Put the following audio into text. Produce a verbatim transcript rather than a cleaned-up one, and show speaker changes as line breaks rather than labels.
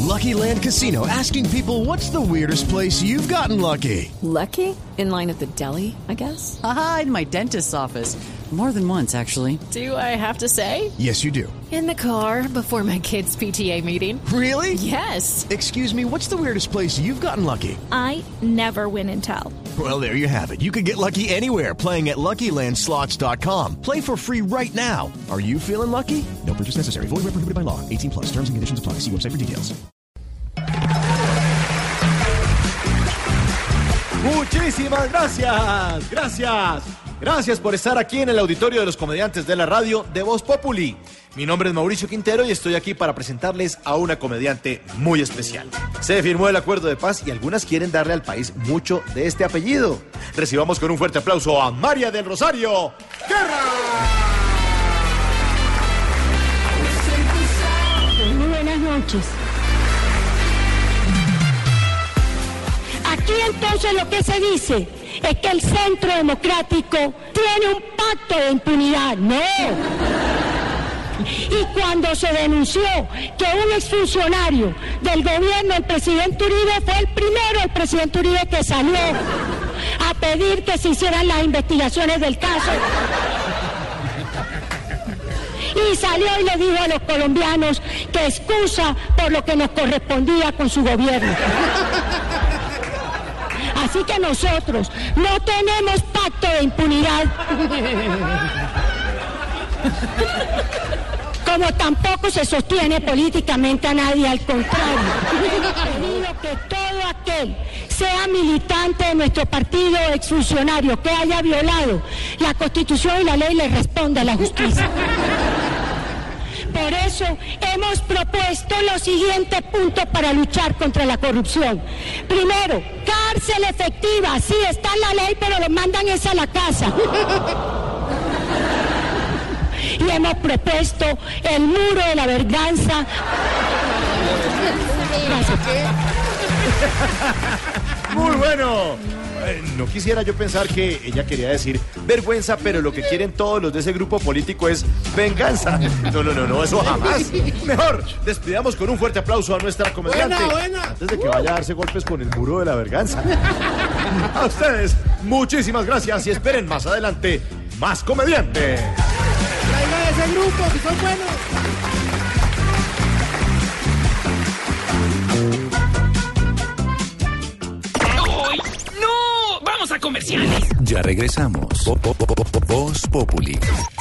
Lucky Land Casino, asking people, what's the weirdest place you've gotten lucky?
Lucky? In line at the deli, I guess?
Aha, in my dentist's office. More than once, actually.
Do I have to say?
Yes, you do.
In the car before my kids' P T A meeting.
Really?
Yes.
Excuse me, what's the weirdest place you've gotten lucky?
I never win and tell.
Well, there you have it. You can get lucky anywhere, playing at Lucky Land Slots dot com. Play for free right now. Are you feeling lucky? No purchase necessary. Void where prohibited by law. eighteen plus. Terms and conditions apply. See website for details.
Muchísimas gracias. Gracias. Gracias por estar aquí en el auditorio de los comediantes de la radio de Voz Populi. Mi nombre es Mauricio Quintero y estoy aquí para presentarles a una comediante muy especial. Se firmó el acuerdo de paz y algunas quieren darle al país mucho de este apellido. Recibamos con un fuerte aplauso a María del Rosario Guerra.
Muy buenas noches. Aquí entonces lo que se dice es que el Centro Democrático tiene un pacto de impunidad. No. Y cuando se denunció que un exfuncionario del gobierno, el presidente Uribe, fue el primero, el presidente Uribe, que salió a pedir que se hicieran las investigaciones del caso. Y salió y le dijo a los colombianos que excusa por lo que nos correspondía con su gobierno. Así que nosotros no tenemos pacto de impunidad, como tampoco se sostiene políticamente a nadie, al contrario. Pido que todo aquel, sea militante de nuestro partido o exfuncionario, que haya violado la Constitución y la ley, le responda a la justicia. Por eso hemos propuesto los siguientes puntos para luchar contra la corrupción. Primero, cárcel efectiva. Sí, está en la ley, pero lo mandan es a la casa. Y hemos propuesto el muro de la venganza. Gracias.
Muy bueno. Eh, no quisiera yo pensar que ella quería decir vergüenza, pero lo que quieren todos los de ese grupo político es venganza. No, no, no, no, eso jamás. Mejor, despidamos con un fuerte aplauso a nuestra comediante.
Buena, buena.
Antes de que vaya a darse golpes con el muro de la venganza. A ustedes, muchísimas gracias y esperen más adelante más comediantes.
Traiga de ese grupo, que son buenos.
¡No! ¡Vamos a comerciales!
Ya regresamos. Voz Populi.